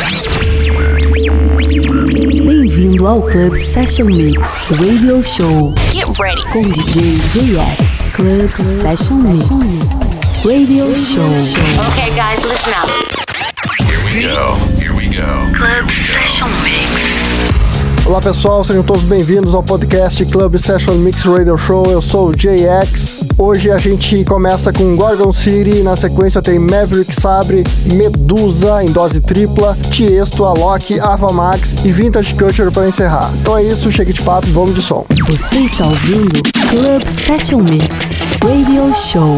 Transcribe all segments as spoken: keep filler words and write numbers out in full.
Bem-vindo ao Club Session Mix Radio Show. Get ready com D J J X. Club Session Mix Radio Show. Okay, guys, listen up. Here we go. Here we go. Club Session Mix. Olá pessoal, sejam todos bem-vindos ao podcast Club Session Mix Radio Show. Eu sou o J X. Hoje a gente começa com Gorgon City, na sequência tem Maverick Sabre, Medusa em dose tripla, Tiesto, Alok, Ava Max e Vintage Culture para encerrar. Então é isso, chega de papo, vamos de som. Você está ouvindo Club Session Mix Radio Show.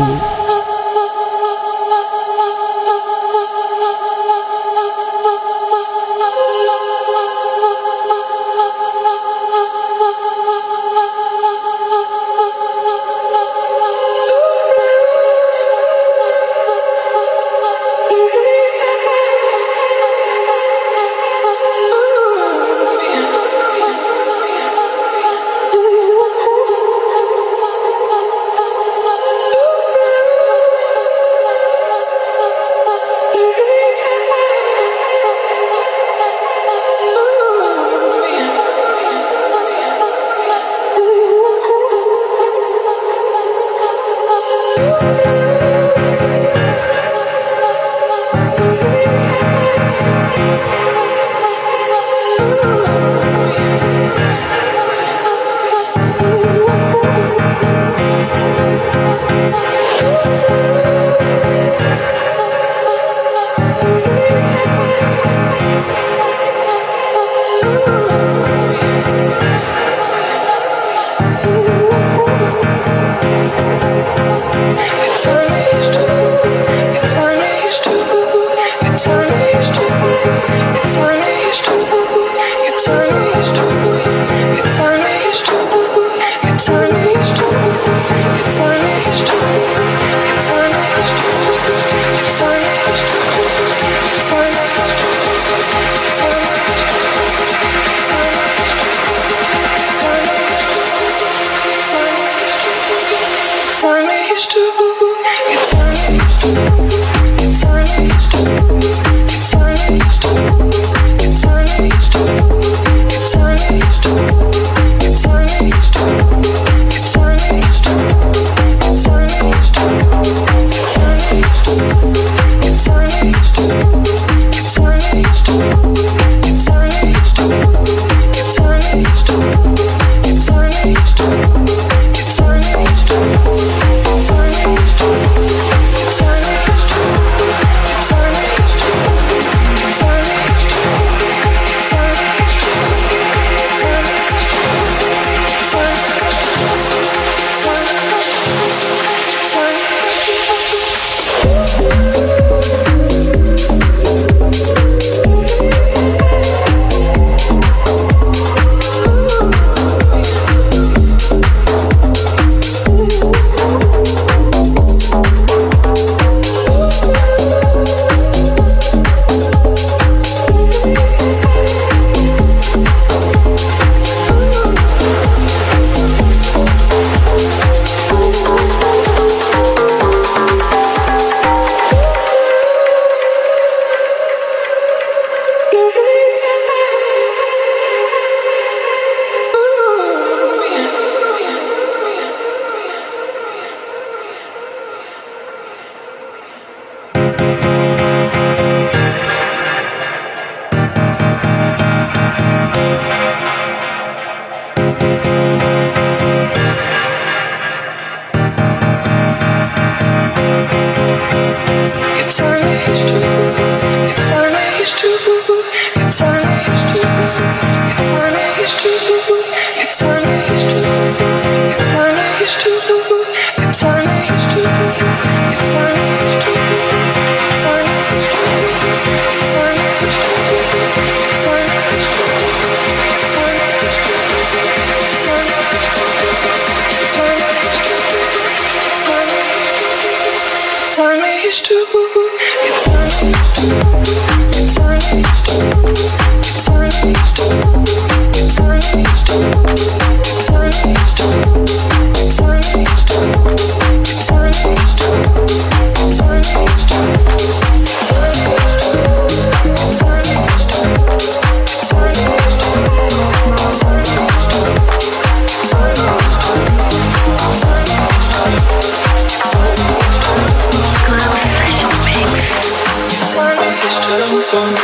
Time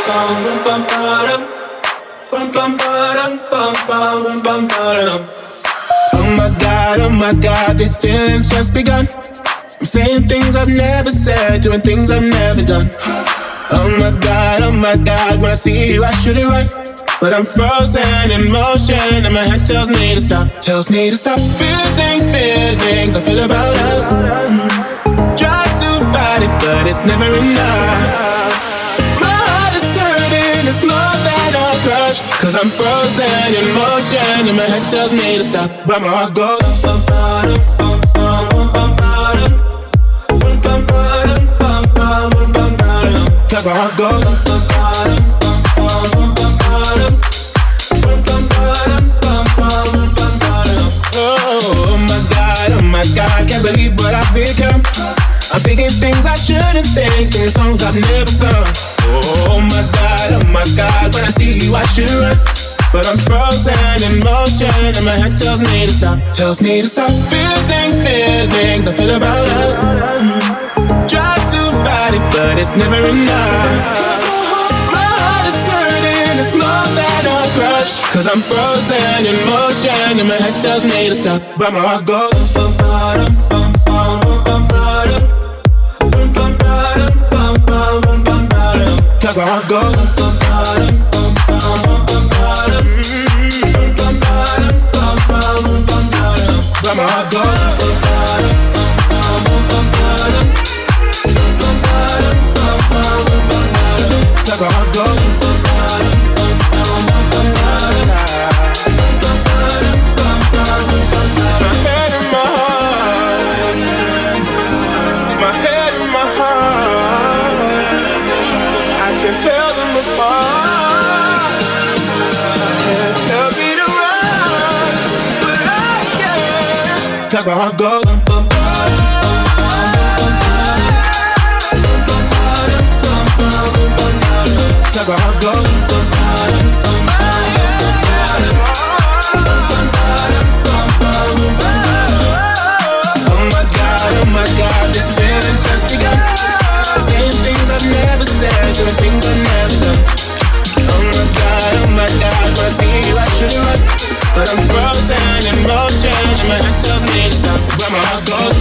Oh my God, oh my God, these feelings just begun. I'm saying things I've never said, doing things I've never done. Oh my God, oh my God, when I see you I should it right, but I'm frozen in motion and my head tells me to stop, tells me to stop feeling feelings I feel about us. Try to fight it, but it's never enough. My heart is hurting, it's more than a crush, cause I'm frozen in motion and my head tells me to stop, but my heart goes cause my heart goes oh my God, oh my God, can't believe what I've become. I'm thinking things I shouldn't think, singing songs I've never sung. Oh my God, oh my God, when I see you I should run, but I'm frozen in motion and my head tells me to stop, tells me to stop feeling feelings I feel about us. Try to fight it, but it's never enough. My heart is hurting, it's more than a crush, cause I'm frozen in motion and my head tells me to stop, but my heart goes cause my heart goes but my heart goes cause my heart goes. My head and my heart, my head and my heart, I can tell them apart. Tell me to run, but I can't, cause my heart goes. Cause my heart goes. Oh my God, oh my God, this feeling's just begun. Saying things I've never said, doing things I've never done. Oh my God, oh my God, when I see you I should run, but I'm frozen in motion and my head tells me to stop, where my heart goes.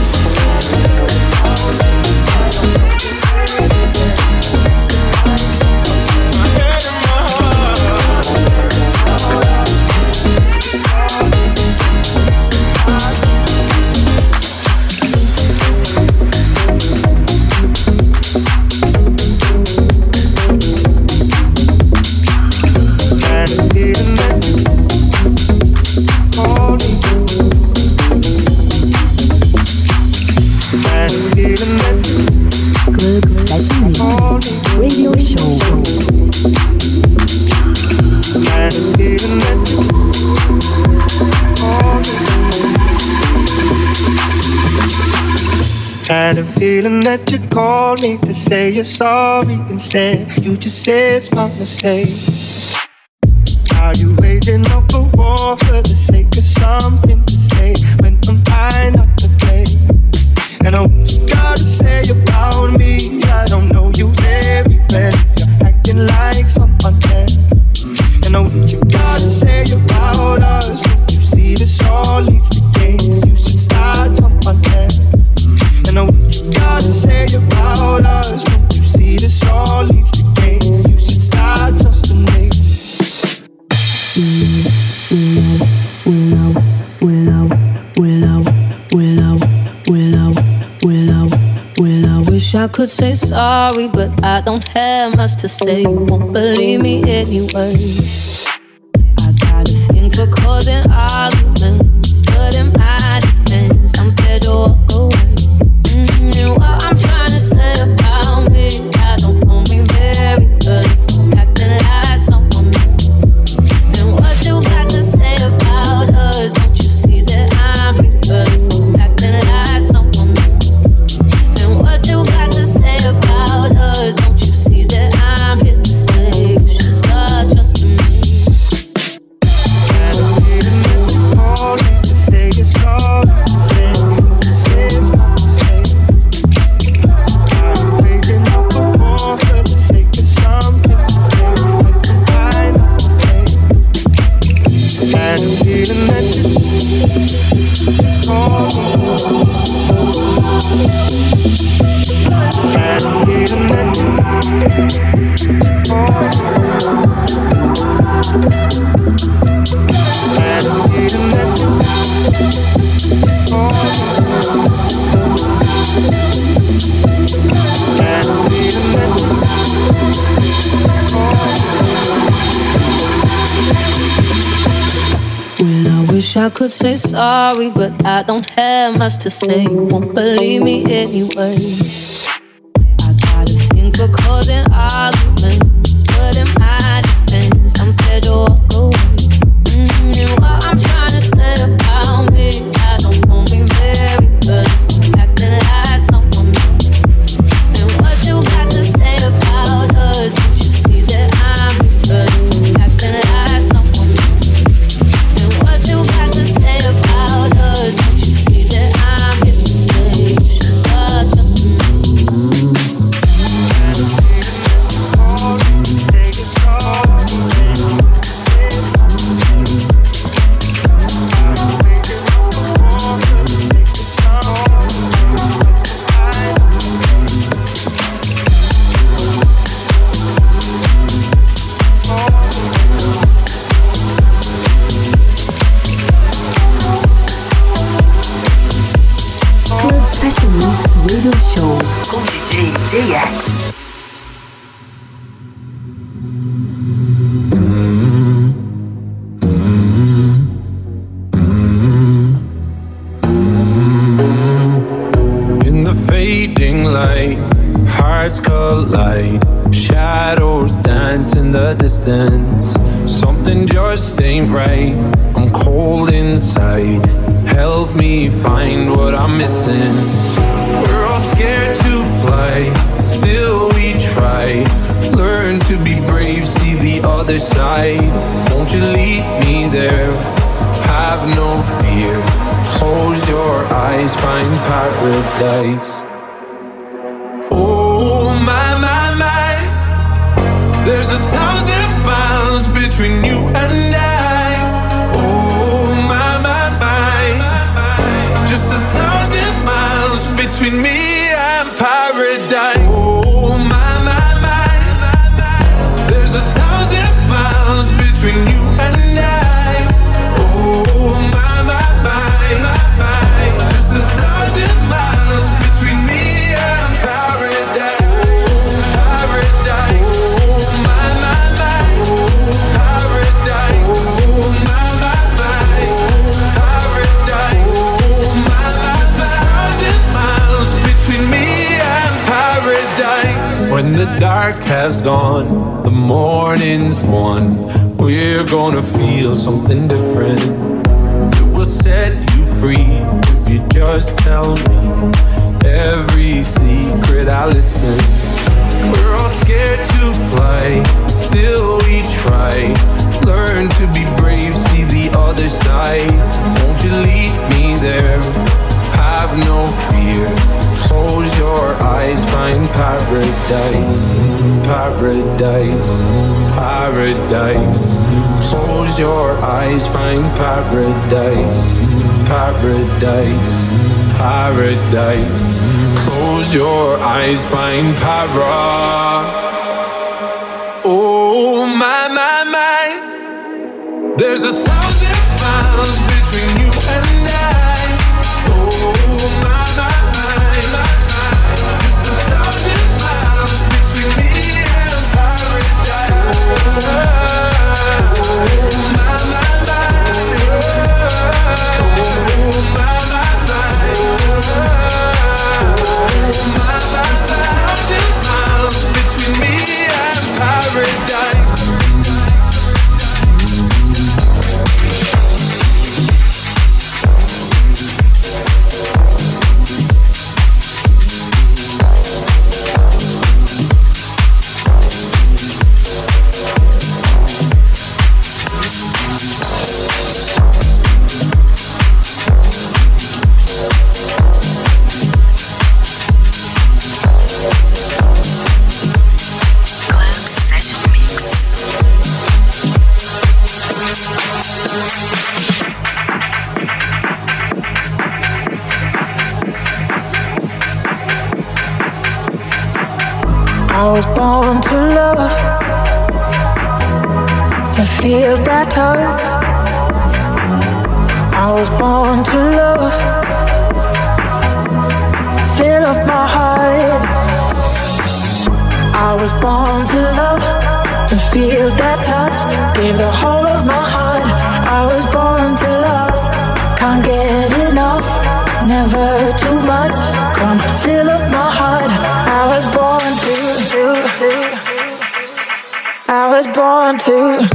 Had a feeling that you called me to say you're sorry. Instead, you just said it's my mistake. Are you waging up a war for the sake of something to say when I'm trying not to play? And I what you gotta say about me, I don't know you very well. You're acting like someone else. And I what you gotta say about us. Don't you see this all leads to games? You should start someone else. And I what you gotta say about us. Don't you see this all leads to games? You should start trusting me. Willow, willow, willow, willow, willow, willow, willow. Wish I could say sorry, but I don't have much to say. You won't believe me anyway. I got a thing for causing arguments, but in my defense, I'm scared to walk away. Mm-hmm. And what I'm trying to say about me, I don't know me very well. If I'm acting like someone else. And what you got to say about us? Don't you see that I'm real? If I'm acting like someone else. And what you got to say about us? Don't you see that I'm here to say you should start trusting me? Wish I could say sorry, but I don't have much to say. You won't believe me anyway. I got a thing for causing arguments, but in my defense, I'm scared you'll walk away. Mm-hmm. And what I'm trying to say about me, I don't want me very good if I'm acting like someone else. And what you got to say about us, don't you see that I'm good if I'm acting like someone else? And what you got to say about us, don't you see that I'm here to say you should start trusting me? Session Mix Radio Show com D J J X. In the fading light, hearts collide, shadows dance in the distance. Something just ain't right, I'm cold inside. Help me find what I'm missing. We're all scared to fly, still we try. Learn to be brave, see the other side. Won't you lead me there? Have no fear. Close your eyes, find paradise. Oh my, my, my. There's a thousand miles between you and I. Oh my, my, my. Just a thousand miles between me and paradise. Oh my, my, my. There's a thousand miles between you and I. Oh my, my, my. Just a thousand miles between me and paradise. Paradise. Oh my, my, my. Paradise. Oh my, my, my. Paradise. Oh my, my, my. Thousand miles between me and paradise. When the dark has gone, the morning's won. We're gonna feel something different. It will set you free if you just tell me every secret I listen. We're all scared to fly, still we try. Learn to be brave, see the other side. Won't you lead me there? Have no fear. Close your eyes, find paradise. Paradise, paradise. Close your eyes, find paradise. Paradise, paradise. Close your eyes, find para. Oh my, my, my. There's a thousand miles between you and I. Oh my, my, my. There's a thousand miles between me and paradise. Oh my, my, my. Oh my, my, my. Oh my, my, my. Thousand miles between me and paradise. I was born to love, to feel that touch. I was born to love, fill up my heart. I was born to love, to feel that touch, give the whole of my heart. I was born to love. can't get enough, never too much. Come fill up my heart. I was born to, I was born to.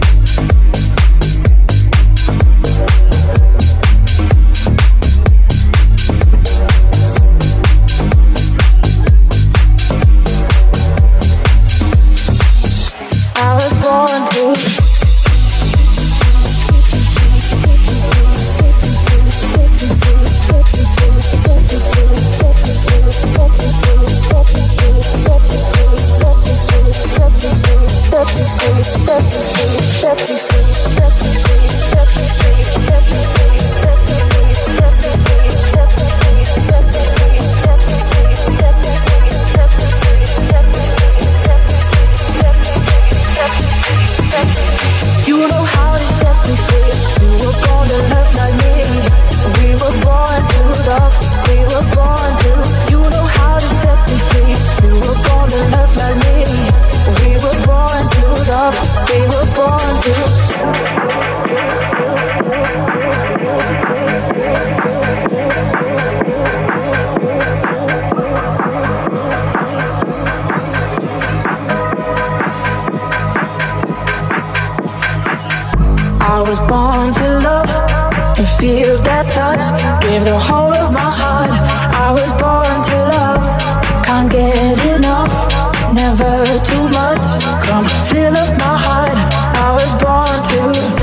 I was born to love, to feel that touch, give the whole of my heart. I was born to love, can't get enough, never too much. Come fill up my heart. I was born to.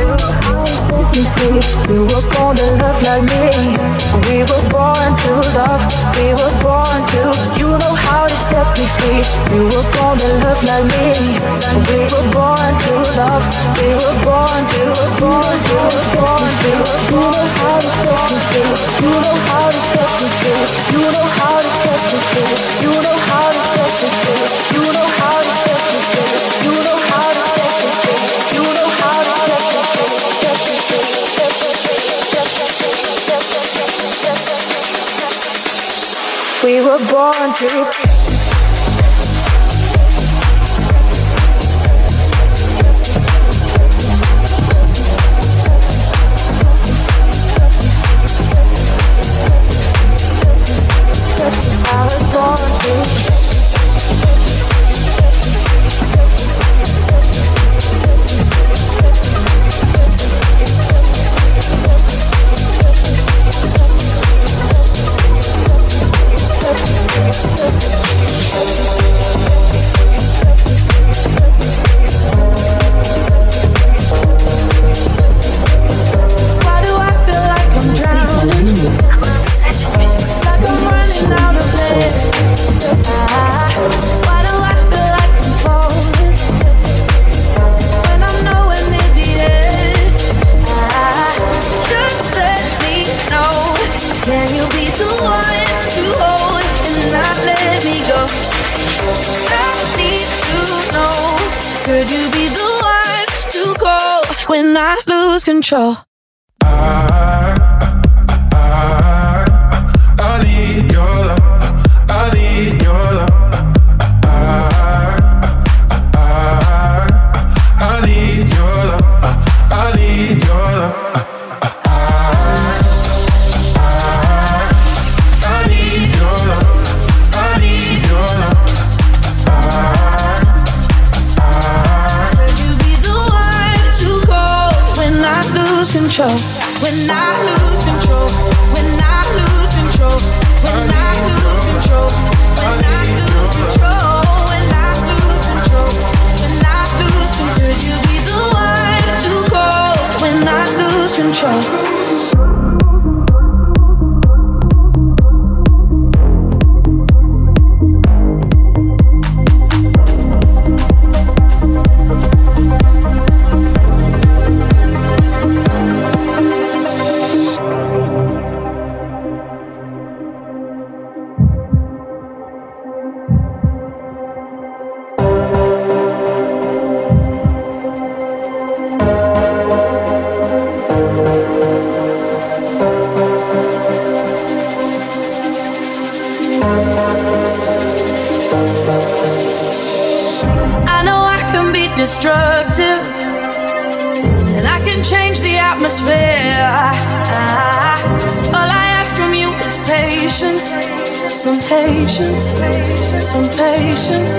You were born to love like me. We were born to love. We were born to. You know how to set me free. You were born to love like me. We were born to love. We were born to. Born to. Born to. You know how to set me free. You know how to set me free. You know how to set me free. You know how to set me free. You know how to set me free. You know how to set me free. You know how to set me free. Set me free. We were born to. I was born to. Control. I, I, I need your love. I need your love. I, I, I need your love. I need your love. Control. When I lose control, when I lose control, when I lose control, when I lose control, when I lose control, when I lose control, could you be the one to go when I lose control? Destructive, and I can change the atmosphere. I, I, patience, some patience, some patience.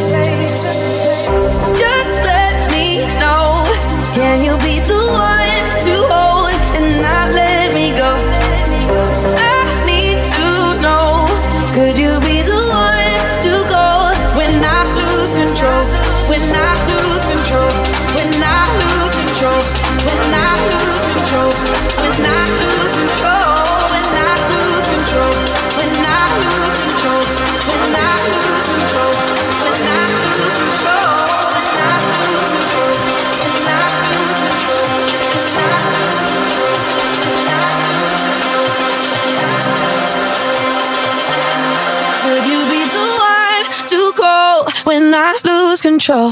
Just let me know, can you be the one to hold and not let me go? I need to know, could you be the one to go when I lose control? When I lose control, when I lose control, when I lose control, when I lose control, when I lose control, when I lose control, when I lose control, when I lose control, when I lose control, when I lose control, when I lose control. Could you be the one to go when I lose control?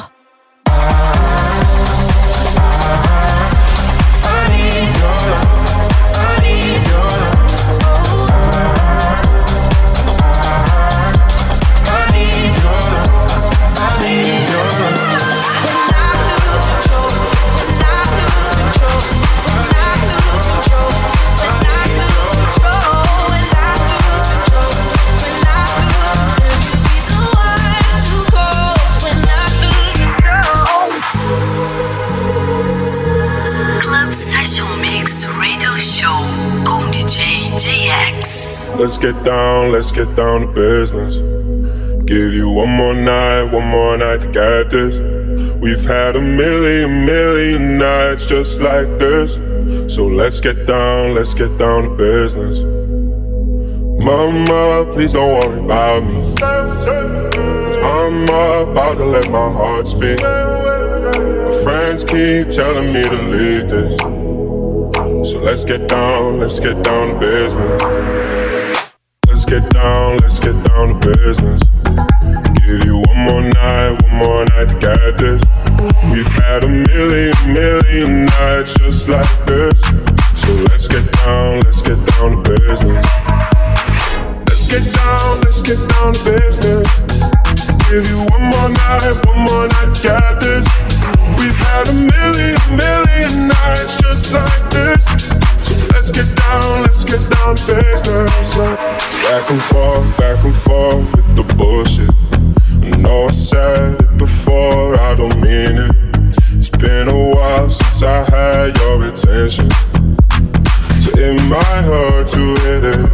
Let's get down, let's get down to business. Give you one more night, one more night to get this. We've had a million, million nights just like this. So let's get down, let's get down to business. Mama, please don't worry about me, 'cause I'm about to let my heart speak. My friends keep telling me to leave this. So let's get down, let's get down to business. Let's get down, let's get down to business. Give you one more night, one more night to get this. We've had a million, million nights just like this. So let's get down, let's get down to business. Let's get down, let's get down to business. Give you one more night, one more night to get this. We've had a million, million nights just like this. So let's get down, let's get down to business. Back and forth, back and forth with the bullshit. I know I said it before, I don't mean it. It's been a while since I had your attention, so it might hurt to hit it.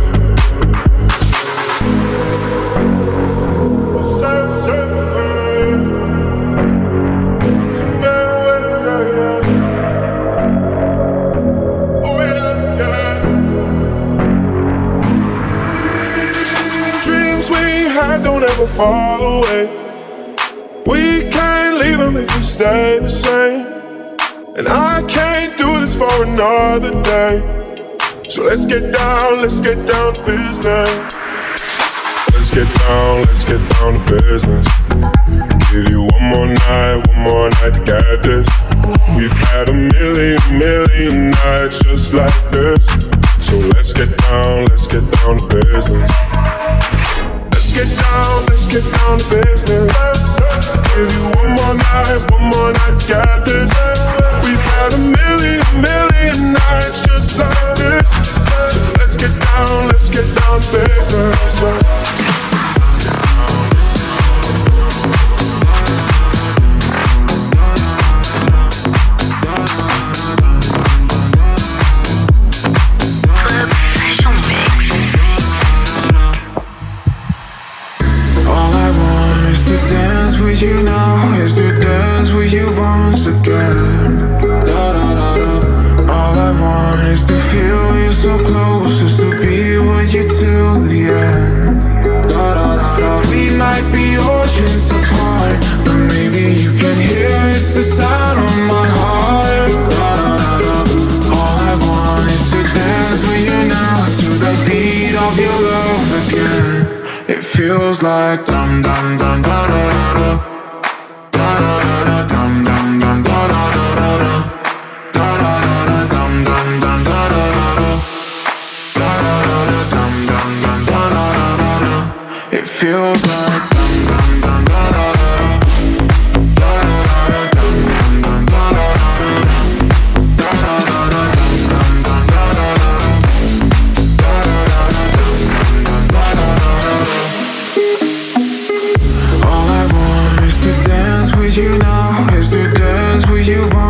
Don't ever fall away. We can't leave them if we stay the same. And I can't do this for another day. So let's get down, let's get down to business. Let's get down, let's get down to business. Give you one more night, one more night to get this. We've had a million, million nights just like this. So let's get down, let's get down to business. Let's get down, let's get down to business. Give you one more night, one more night to get this. We've had a million, million nights just like this. So let's get down, let's get down to business. You now is to dance with you once again. Da da da da. All I want is to feel you so close, is to be with you till the end. Da da da da. We might be oceans apart, but maybe you can hear it's the sound of my heart. Da da da da. All I want is to dance with you now to the beat of your love again. It feels like dum dum dum da da da da. It feels like dum dum dum da da da da da da dum dum dum da da da da da da dum dum dum da da da da da da dum dum dum da da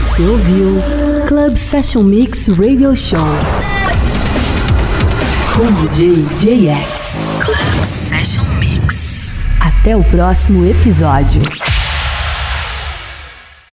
Você ouviu Club Session Mix Radio Show com D J J X. Club Session Mix. Até o próximo episódio.